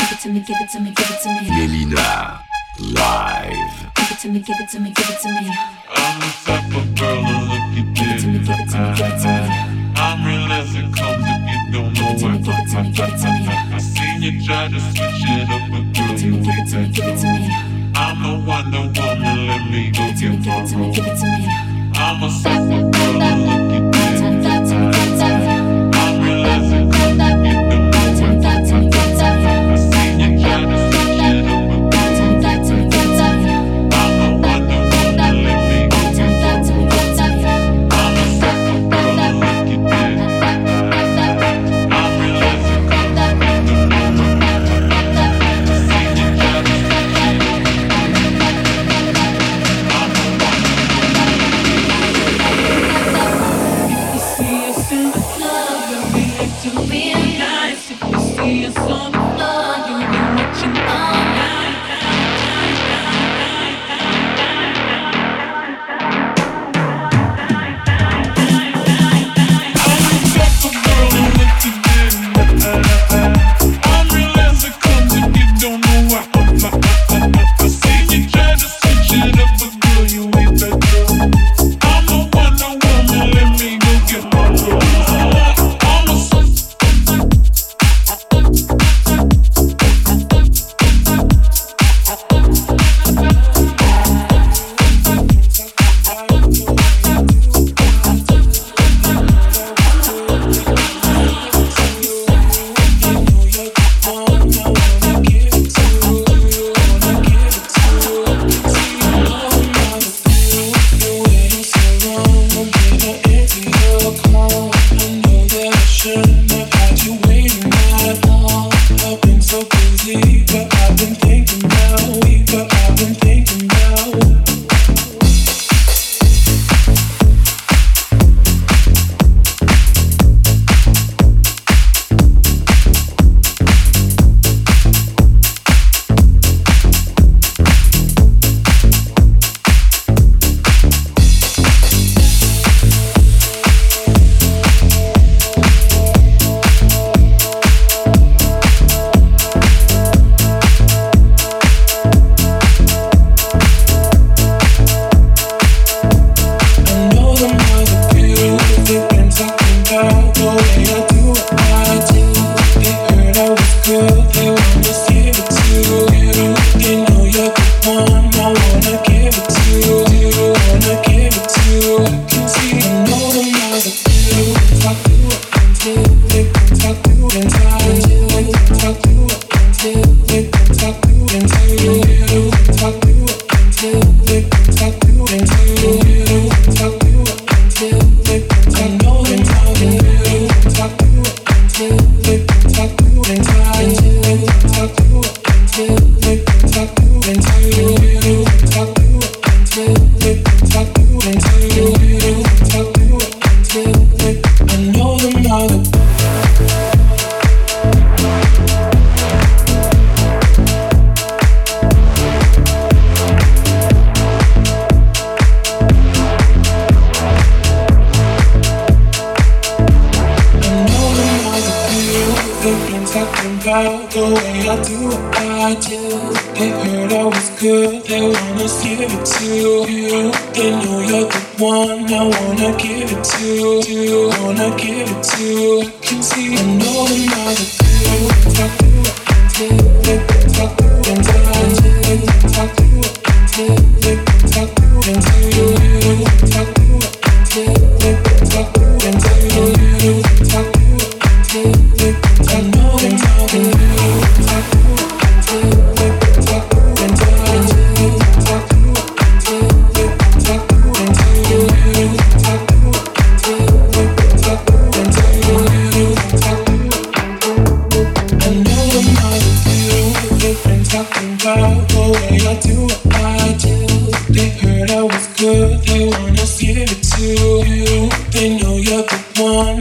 Mélina, live. Give it to me, give it to me, give it to me. I'm the type of girl to look you dead in the eye. I'm real as it comes if you don't know why. I seen you try to switch it up, but girl, you ain't that true. I'm the Wonder Woman, let me go get my role. I'm a simple girl to look you dead in the eye. I'm real as it comes if you don't know why. I seen you try to switch it up, but girl, you ain't that true. I'm the Wonder Woman, let me go get my role. I'm a simple girl to look you dead in the eye. I'm real as it comes if you don't know why. I seen you try to switch it up, but girl, you ain't that true. I'm the Wonder Woman, let me go get my role. If you see us in the club, we'll react to being nice. If you see us on the floor, you'll be watching all night. I'm the type of girl to look you dead in the eye. I'm real as it comes if you don't know why. I seen you try to switch it up, but girl, you ain't that true. I'm the Wonder Woman, let me go get my rose. I'm a Talking about the way I do it.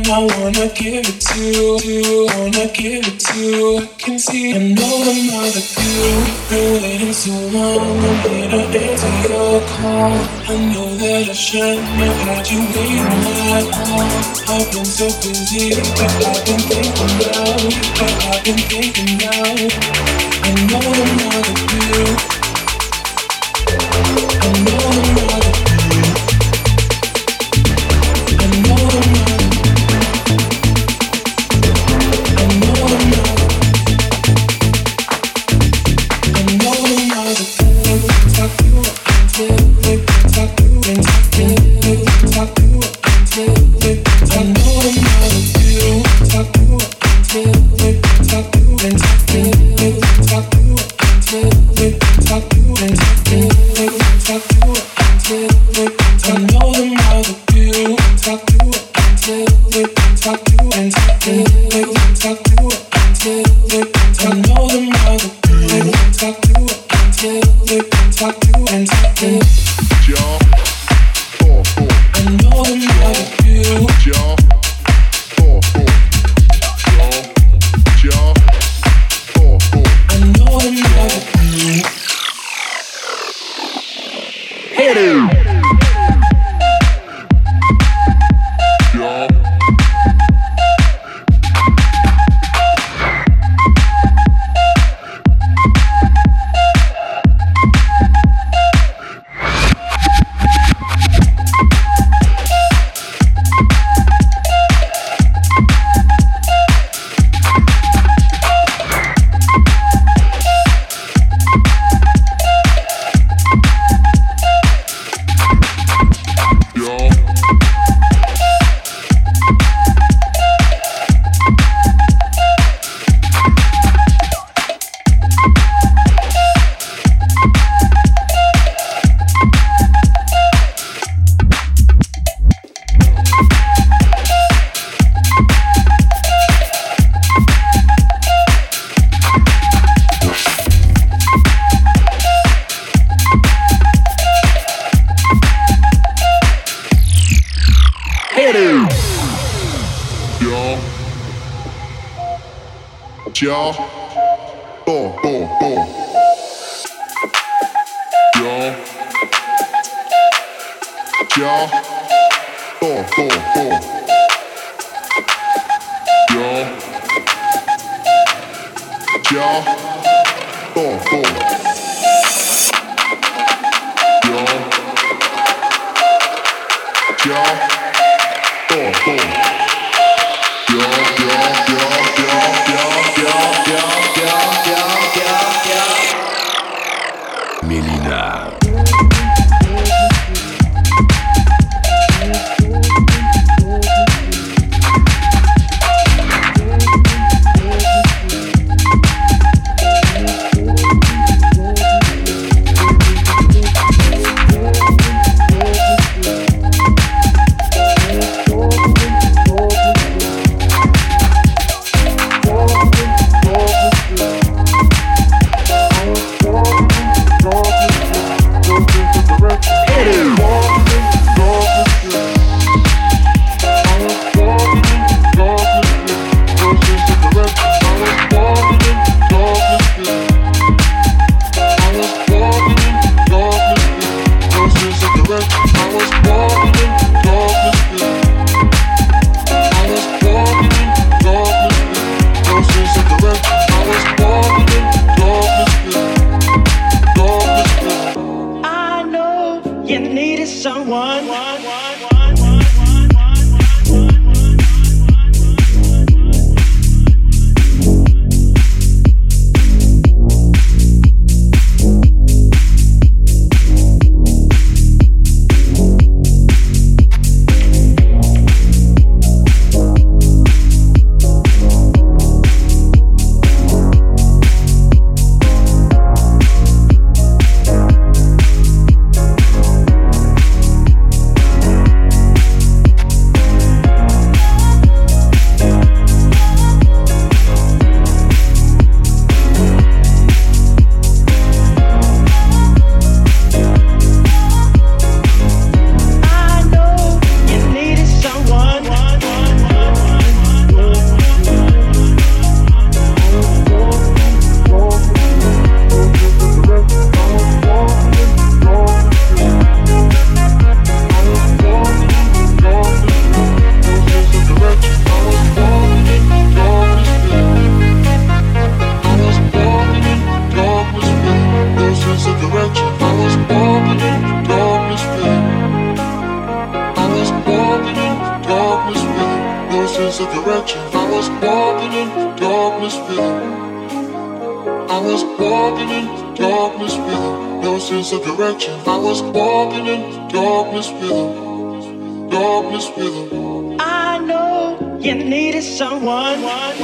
I wanna give it to you, wanna give it to you. I can see, I know I'm not a few. Been waiting so long, I'm here to answer your call. I know that I shouldn't have had you waiting that long. I've been so busy, but I've been thinking now, but I've been thinking now. I know I'm not a few. I know I'm not a few. I know I'm not. Y'all, Mélina. no sense of direction. I was walking in darkness feeling. I was walking in darkness feeling, no sense of direction. I was walking in darkness feeling, darkness feeling. I know you needed someone.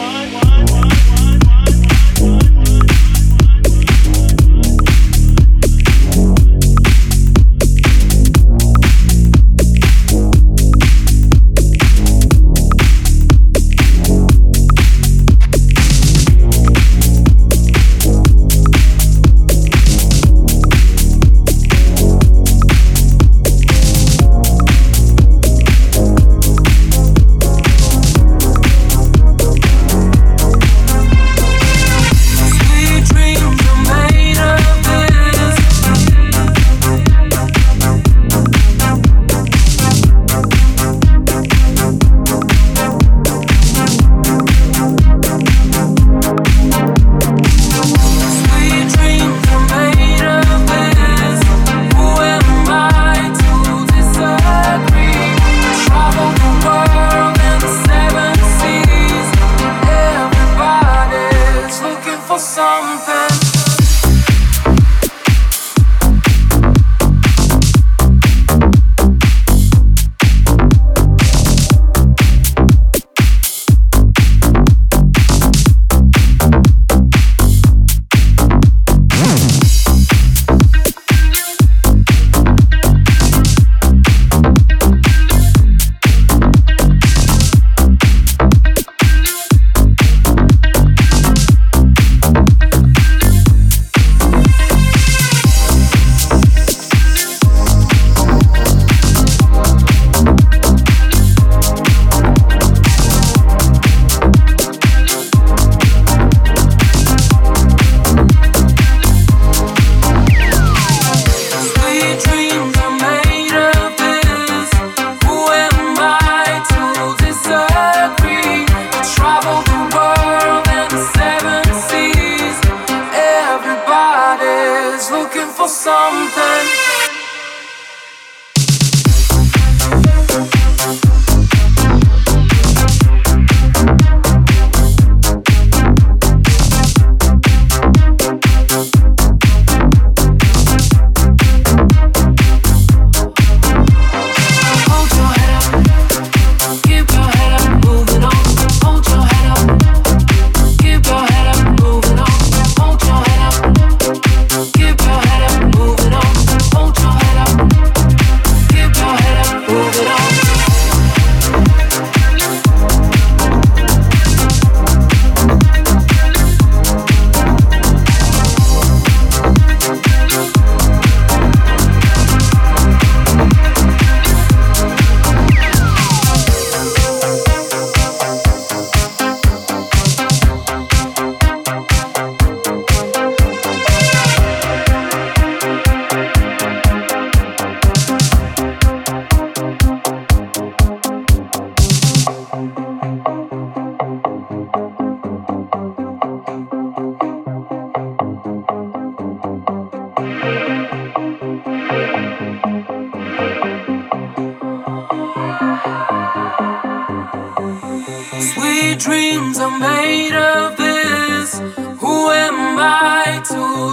Sweet dreams are made of this. Who am I to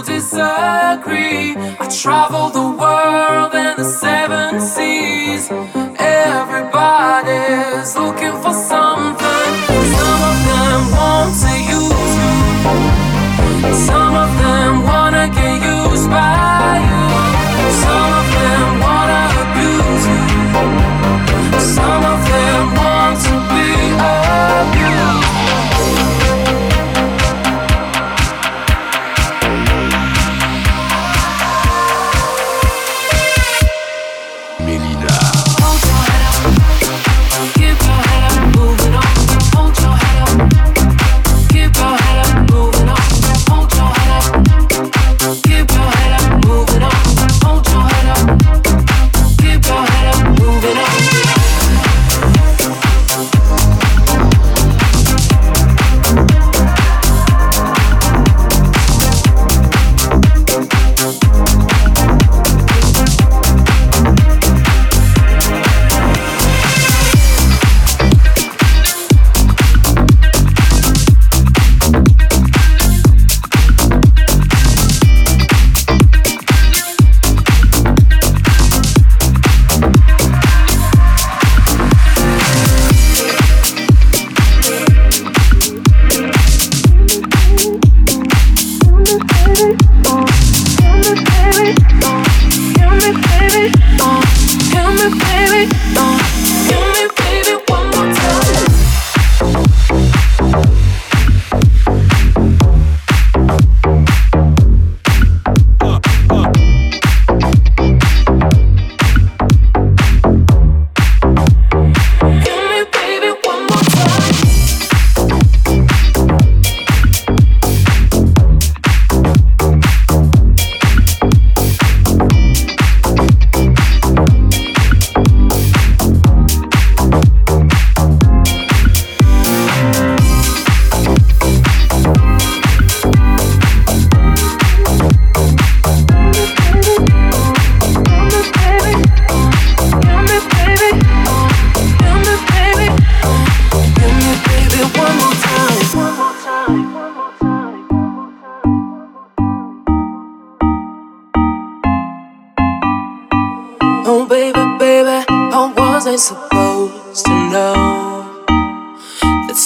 disagree? I travel the world and the seven seas. Everybody's looking for something. Some of them want to use you. Some of them wanna get used by you. Some of them wanna abuse you. Some of them want to be abused. Melyna. Hold your head up, keep your head up.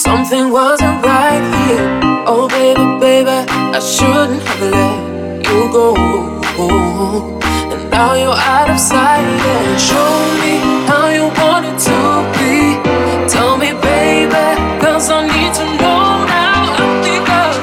Something wasn't right here. Oh baby, baby, I shouldn't have let you go. And now you're out of sight. And show me how you want it to be. Tell me, baby, 'cause I need to know now. Because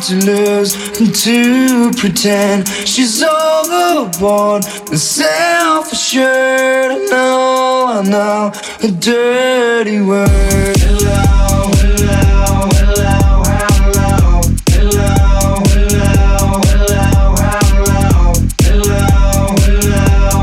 to lose and to pretend she's overboard and self-assured. I know, a dirty word. Hello, hello, hello, hello, hello, hello, hello, hello, hello,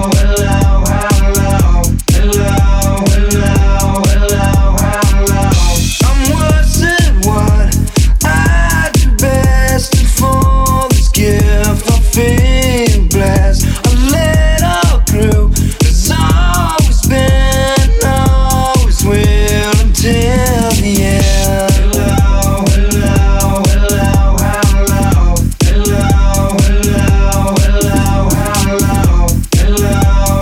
I'm worse at what I do best, and for this gift I feel blessed. A little group has always been, always will until the end. Hello, hello, hello, hello, hello, hello, hello, hello, hello,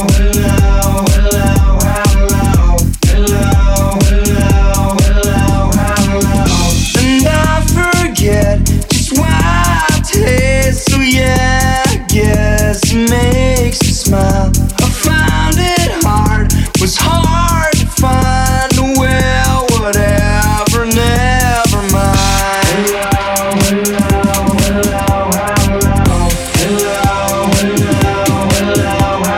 and I forget just why it tastes so, yeah, I guess it makes me smile. I found it hard, was hard to find. Well, whatever, never mind. Hello, hello, hello, hello, hello, hello,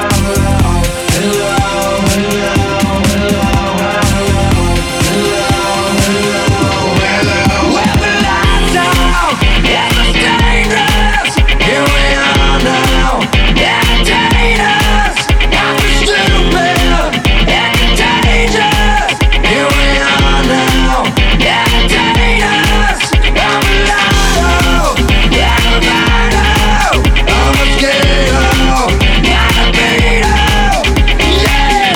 well, the lights out, yeah, it's dangerous. Here we are now, entertain us. I'm stupid, it's contagious. Here we are now, entertain us. I'm alive, yeah, I'm alive. I'm a mosquito, not a beetle, yeah.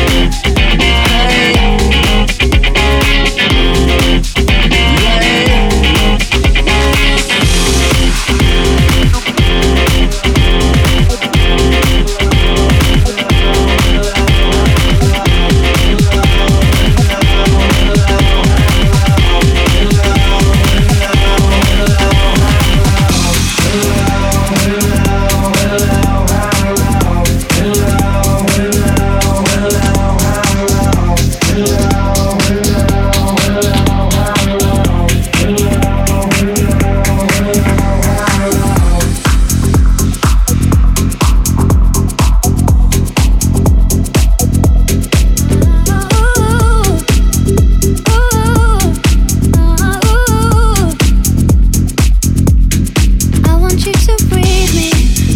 I want you to breathe me.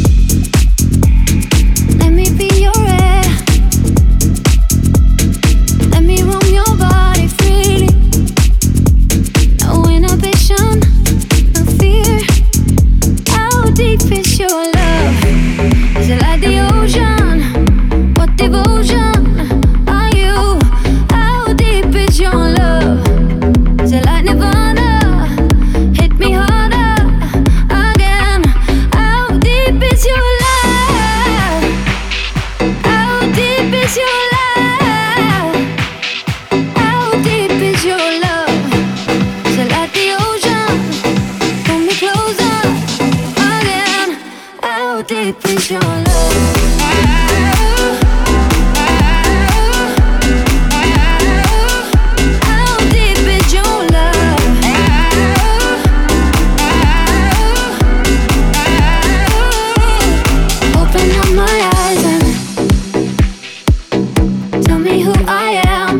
Let me be your air. Let me roam your body freely. No inhibition, no fear. How deep is your love? Is it like the ocean? What devotion are you? How deep is your love? Is it like Nirvana? Hit me harder again. How deep is your love? How deep is your love? How deep is your love? Is it like the ocean? Pull me closer again. How deep is your love? How deep is your love? Open up my eyes and tell me who I am.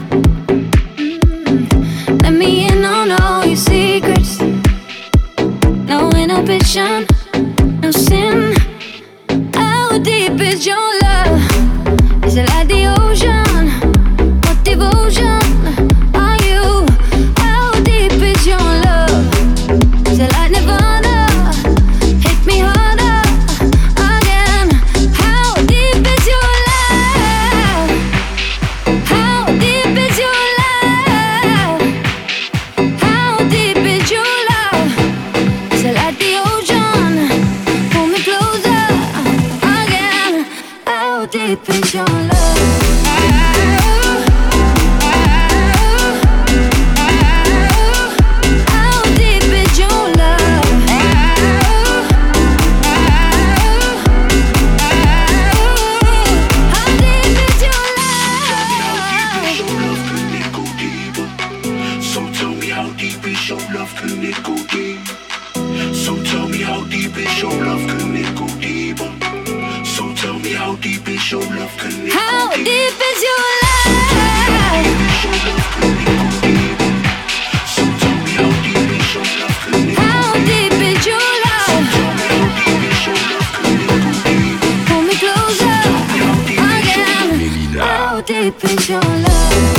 Let me in on all your secrets. No inhibition, no sin. How deep is your love? Is it like the ocean? What devotion are you? How deep is your love? Is it like Nirvana? Hit me harder again. How deep is your love? How deep is your love? How deep is your love? Is it like the ocean? Pull me closer again. How deep is your love? How deep is your love? How deep is your love? So tell me how deep is your love, can it go deep? deep is your love? Can it go deeper? So tell me how deep is your love? Can it How go deep deeper? is your love? So tell me how deep is your love? Can it go How deep is your love? Pull me closer again. How deep is your love?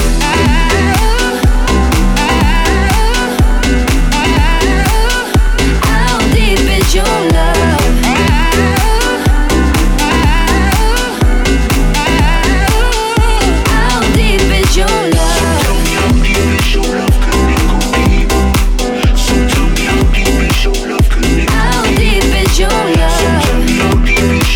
How deep is your love? How deep is your love? How deep is your love?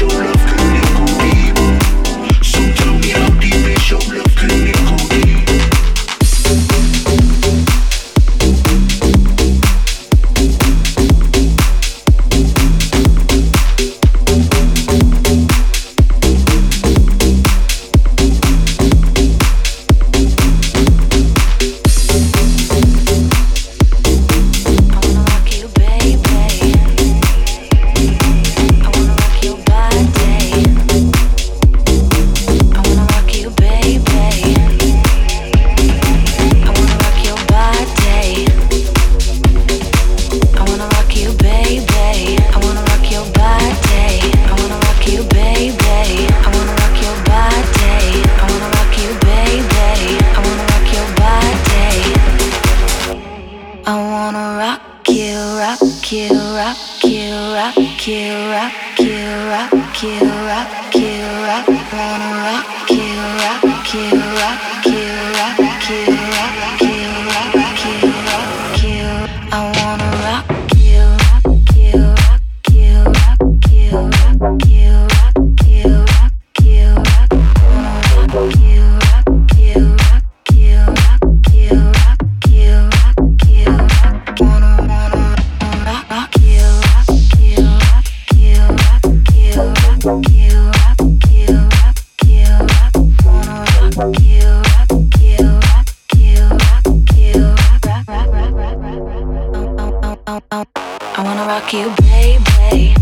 I wanna rock you, baby.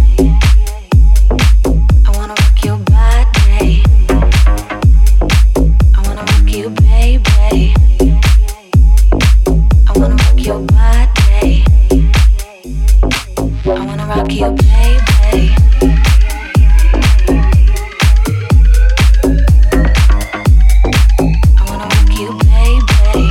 I wanna rock your body. I wanna rock you, baby. I wanna rock your body. I wanna rock you, baby. I wanna rock you, baby.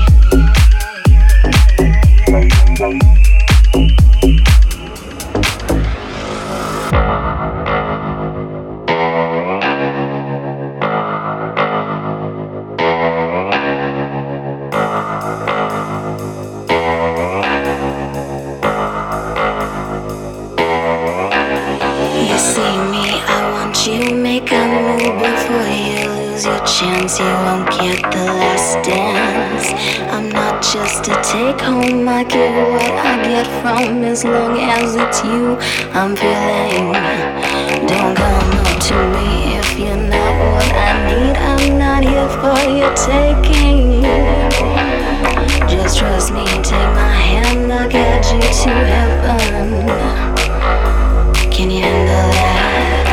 You see me, I want you, make a move before you lose your chance. You won't get the last dance. I'm not just to take home, I get what I get from as long as it's you I'm feeling. Don't come up to me if you're not what I need. I'm not here for your taking. Just trust me, take my hand, I'll get you to heaven. Can you handle that?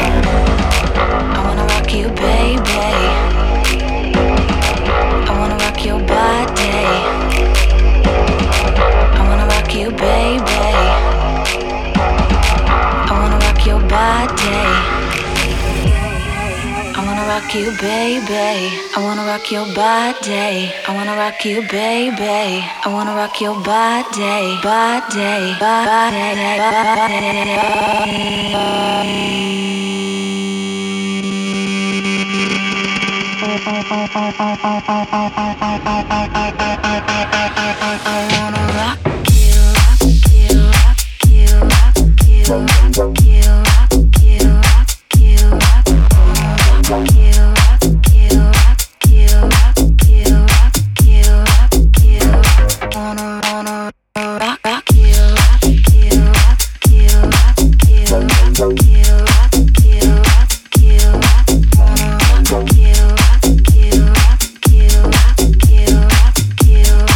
I wanna rock you, baby. I wanna rock your body. I wanna rock you, baby. I wanna rock your body. I wanna rock you, baby. I wanna rock your body. I wanna rock you, baby. I wanna rock your body, body,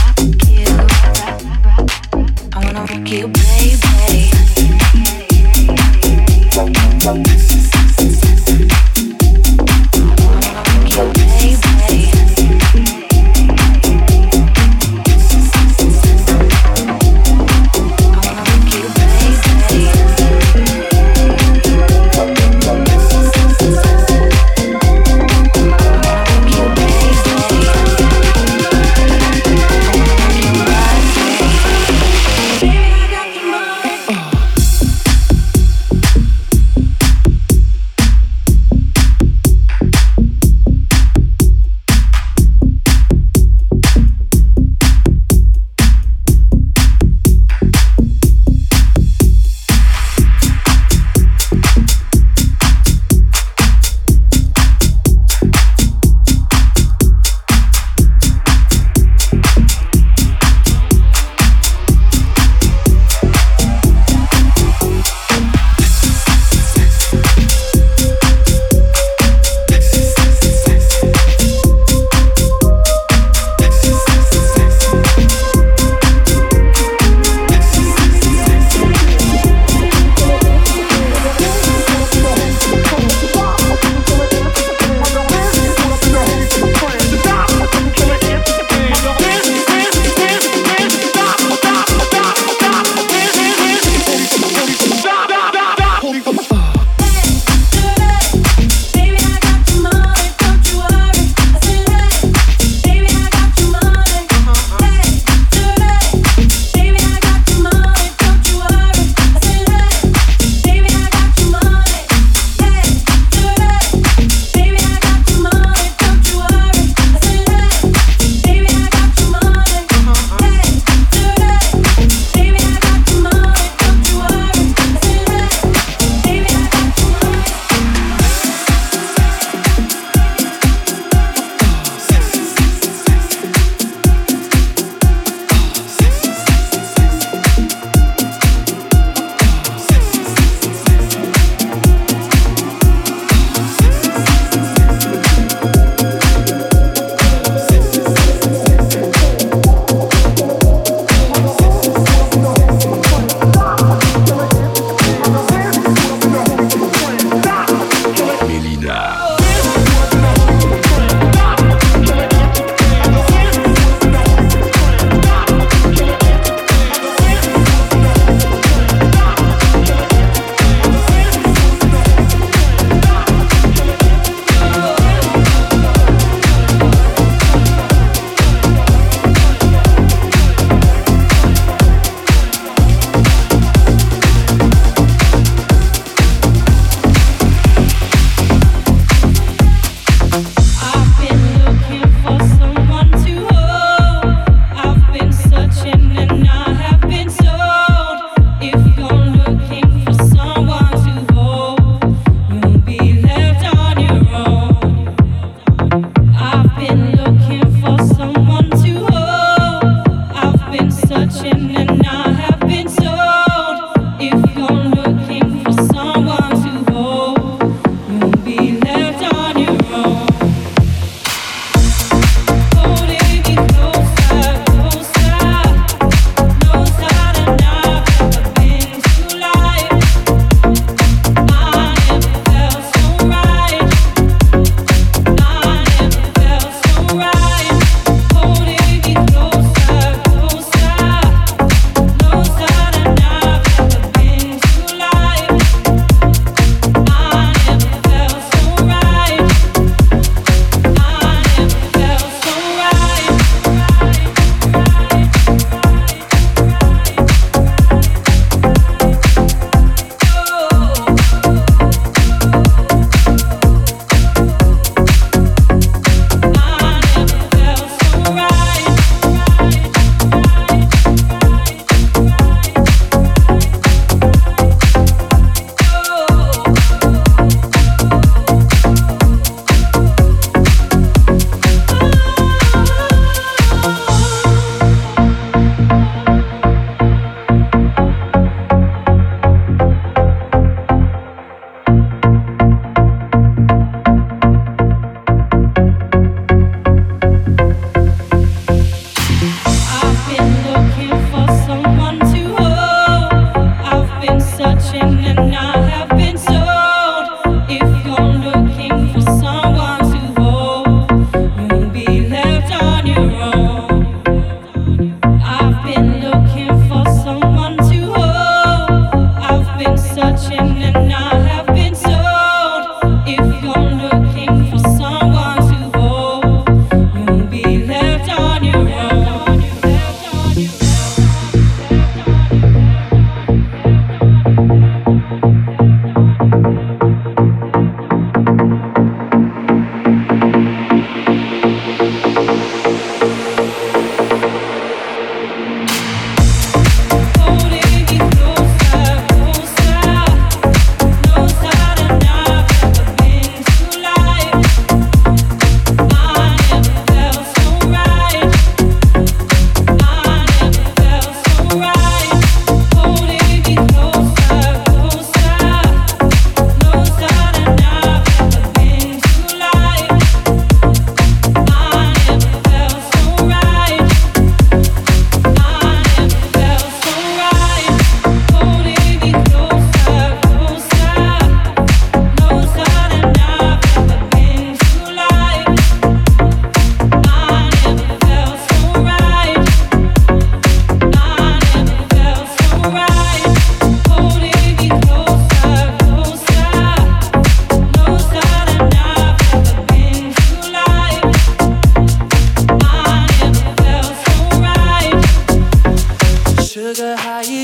I wanna rock you, baby.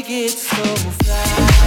you get so fly.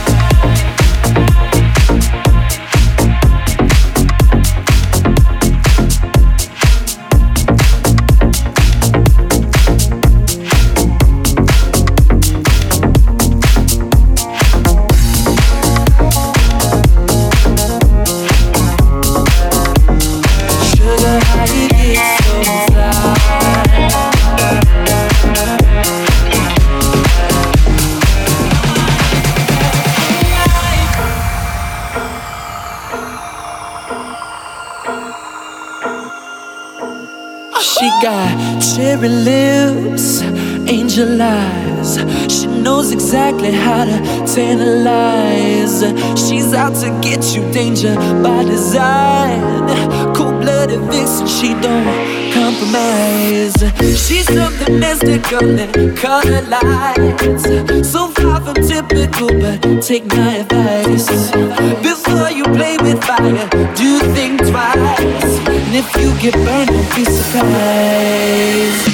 She got cherry lips, angel eyes. She knows exactly how to tantalize. She's out to get you, danger by design. Cold-blooded vixen, she don't compromise. She's something mystical and color lights. So far from typical, but take my advice. Before you play with fire, do think twice. And if you get burned, don't be surprised.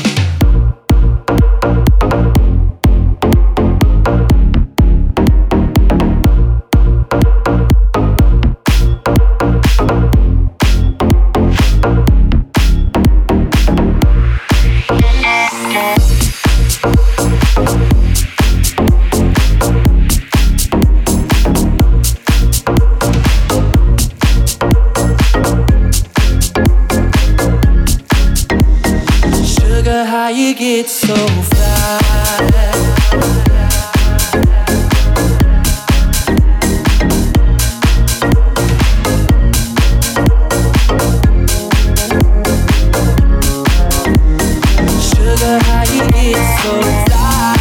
How you get so fly. Sugar, how you get so fly.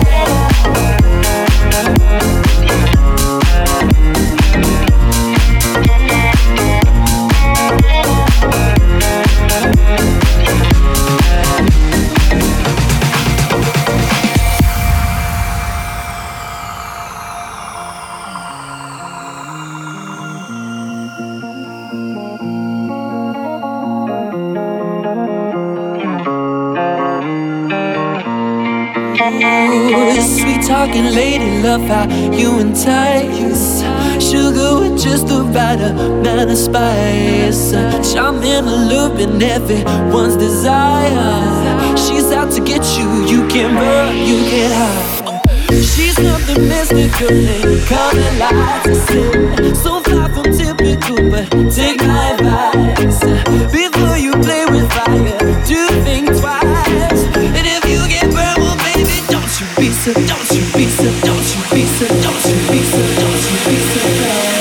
Sweet talking lady, love how you entice. Sugar with just the right amount of spice. Charming, alluring, everyone's desire. She's out to get you, you can run, you can hide. She's something mystical and coming lights. So far from typical, but take my advice. Before you play with fire, do think twice. And if you get burned, well baby, don't you be so, don't you be so, don't you be so, don't you be so, don't you be so bad.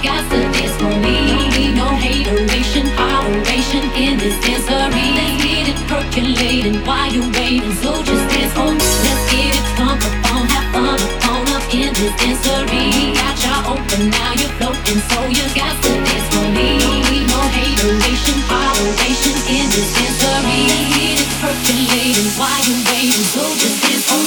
got to dance for me. Don't need no hateration, holleration in this dancery. Let's get it percolating while you're waiting, so just dance for me. Let's get it funk up, have fun up in this dancery. Got y'all open, now you're floating, so you got to dance for me. Don't need no hateration, holleration in this dancery. Let's get it percolating while you're waiting, so just dance for me.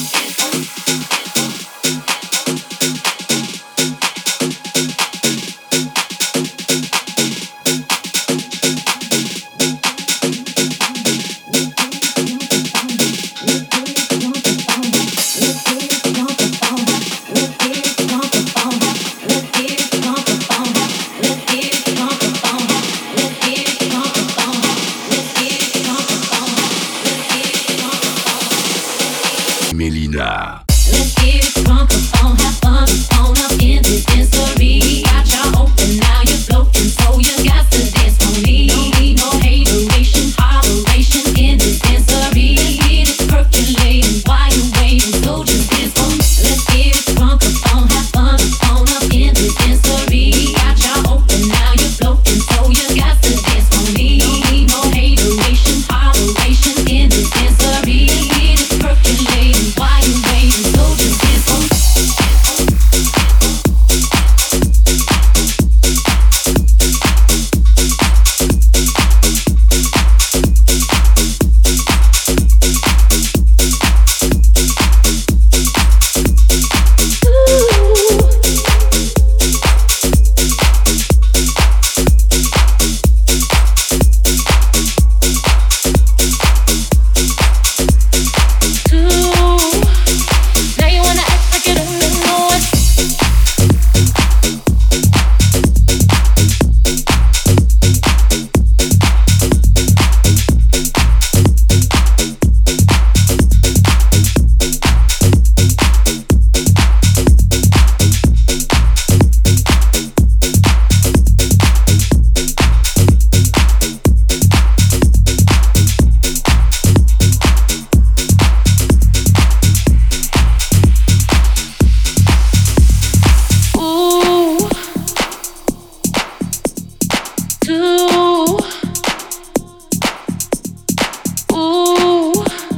Melyna. Let's get it drunk up, have fun up in this dancery. Got y'all open, now you're floating, so you got to dance for me. Don't need no hateration, holleration in this dancery. Let's get it percolating while you're waiting, so just dance for me. Let's get it drunk up, have fun up in this dancery. Got y'all open, now you're floating, so you got to dance for me. Don't need no hateration, holleration in this dancery. Let's get it percolating while you're waiting, so just dance for me. Now you wanna act like you don't know what. Ooh, do, ooh,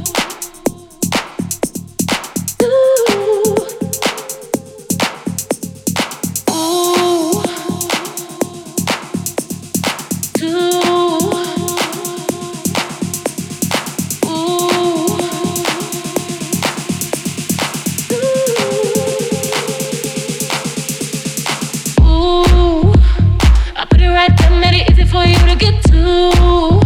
ooh, I put it right there, made it easy for you to get to.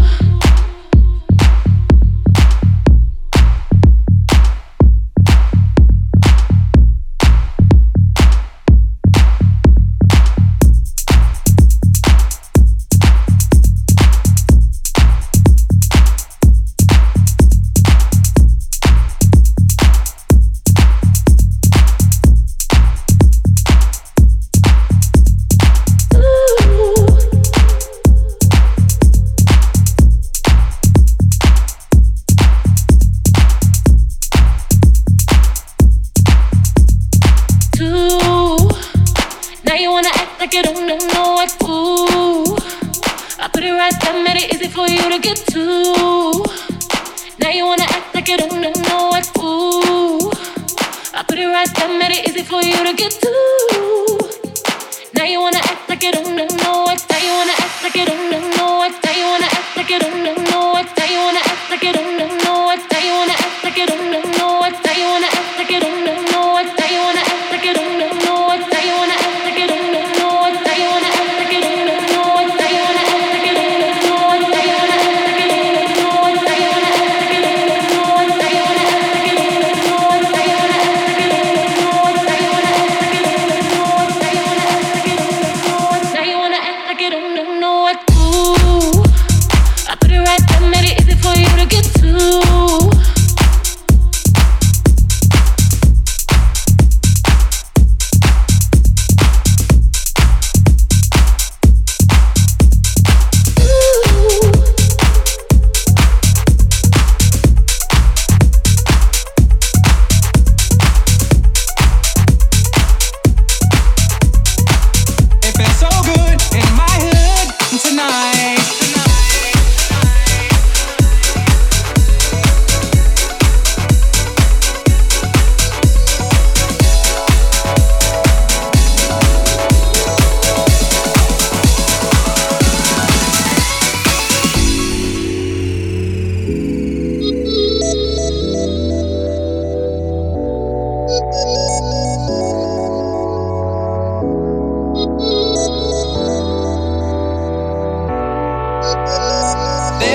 Now you wanna act like you don't know what. Ooh, I put it right there, made it easy for you to get to. Now you wanna act like you don't know what. Ooh, I put it right there, made it easy for you to get to. Now you wanna act like you don't know what. Now you wanna act like you don't know what. Now you wanna act like you don't know what. Now you wanna act like you don't know what. Now you wanna act like you don't know what. Now you wanna act like you don't know what. Now you wanna act like you don't know what. Now you wanna act like you don't know what. Now you wanna act like you don't know what. Now you wanna act like you don't know what. Now you wanna act like you don't know what. Now you wanna act like you don't know what. Now you wanna act like you don't know what. Now you wanna act like you don't know what. Now you wanna act like you don't know what. Now you wanna act like you don't know what. Now you wanna act like you don't know what. Ooh.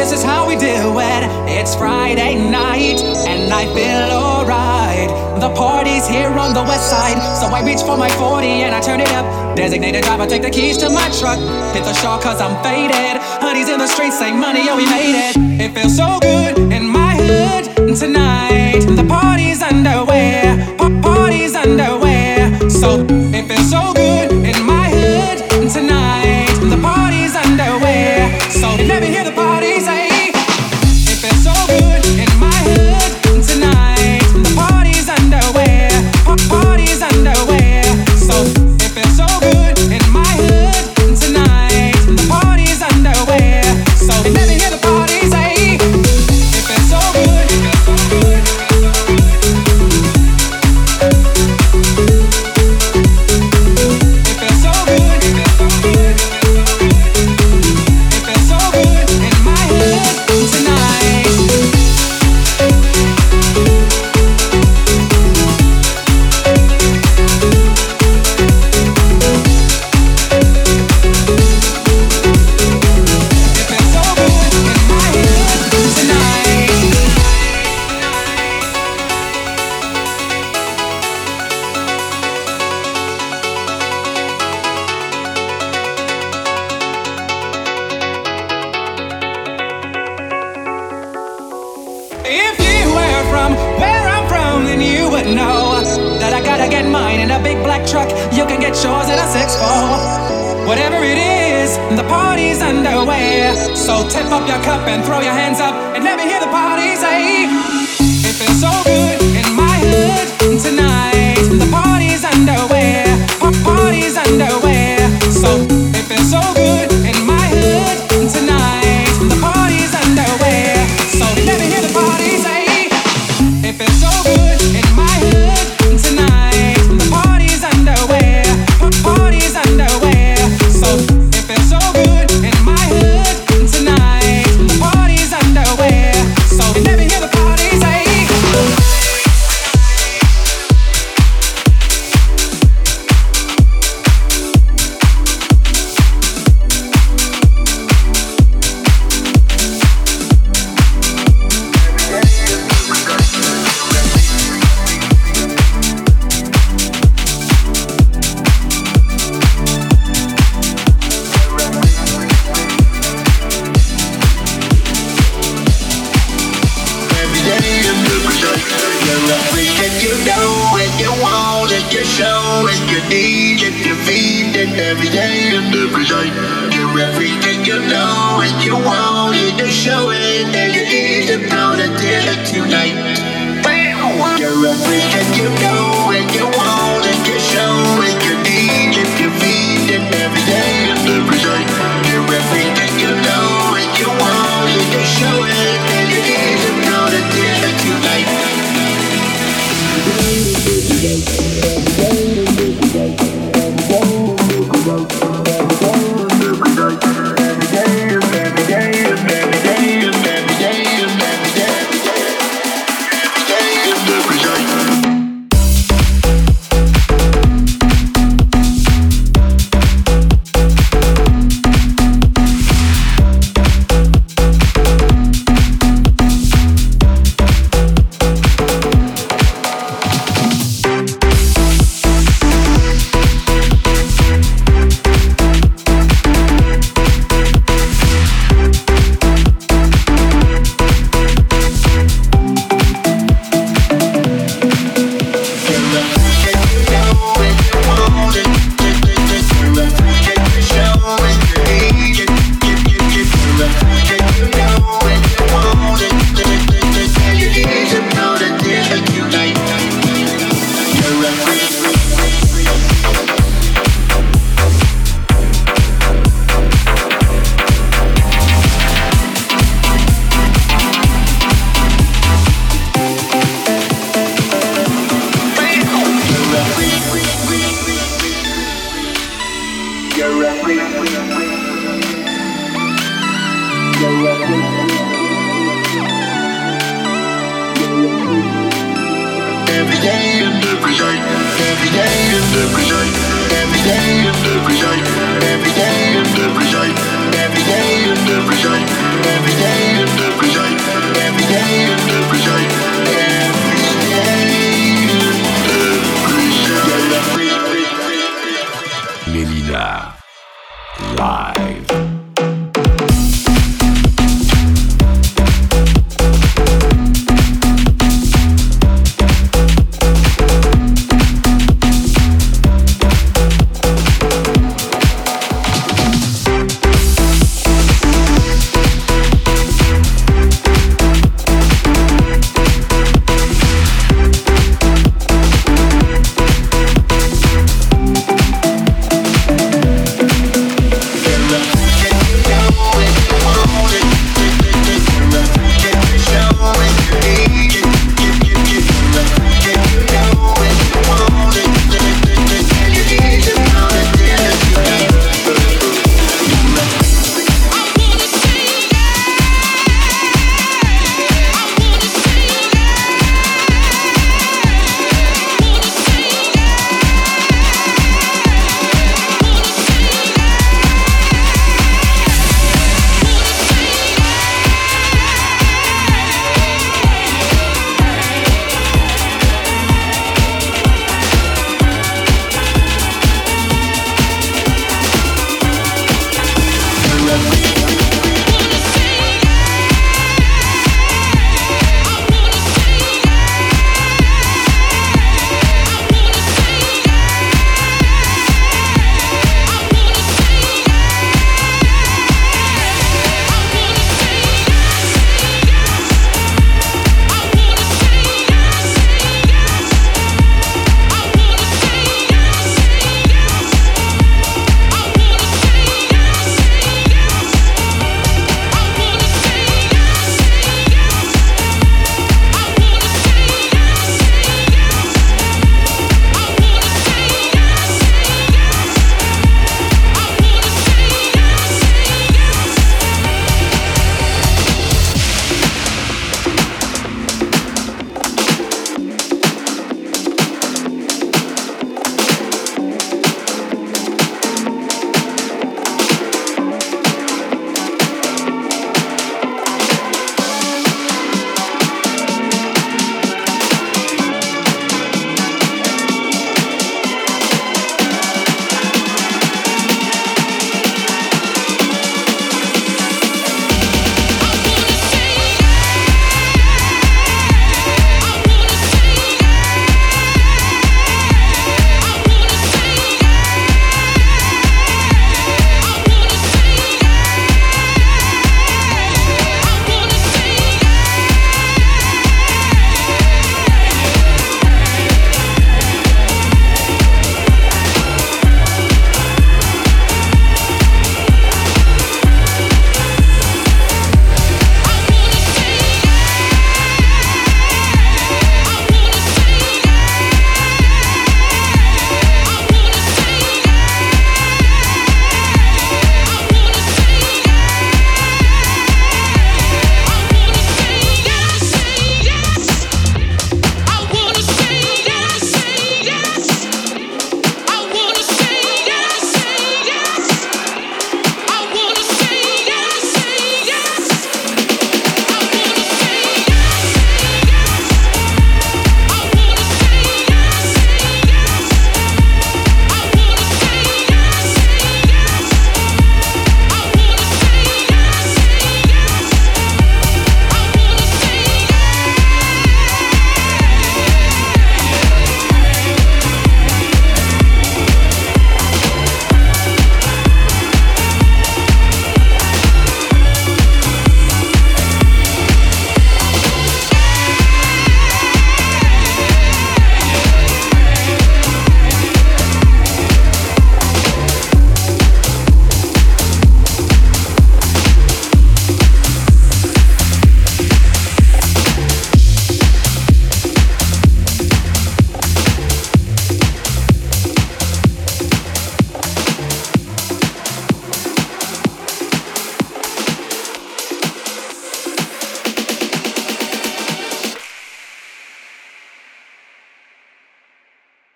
this is how we do it. It's Friday night, and I feel alright. The party's here on the west side, so I reach for my 40 and I turn it up. Designated driver, take the keys to my truck. Hit the shore cause I'm faded. Honey's in the streets, say money, oh we made it. It feels so good in my hood tonight. The party's underway, party's underway. So it feels so good in my hood tonight. The party's underway. So you never hear the party say. It feels so good in my hood tonight. The party's underway, party's underway. So it feels so good in my hood tonight. The party's underway. So you never hear the party say. It feels so good. If you were from where I'm from, then you would know that I gotta get mine in a big black truck. You can get yours in a 6'4". Whatever it is, the party's underway. So tip up your cup and throw your hands up and let me hear the party say. It feels so good in my hood tonight. The party's underway, party's underway. So it feels so good in my hood tonight. The party's underway. So let me hear the party say. It feels so good in my hood tonight. The party's underway, party's underway. So it feels so good in my hood tonight. The party's underway. So let me hear the party say. Every day and every night, you're everything you know and you want it to show it, and you need to know that dinner tonight. You're everything you know and you want it to show it, you need it, you feed it every day and every night. You're everything you know and you want it to show it, and you need to know that dinner tonight. Every day and every night, every day and every night, every day and every night, every day and every night, every day and every night, every day. live.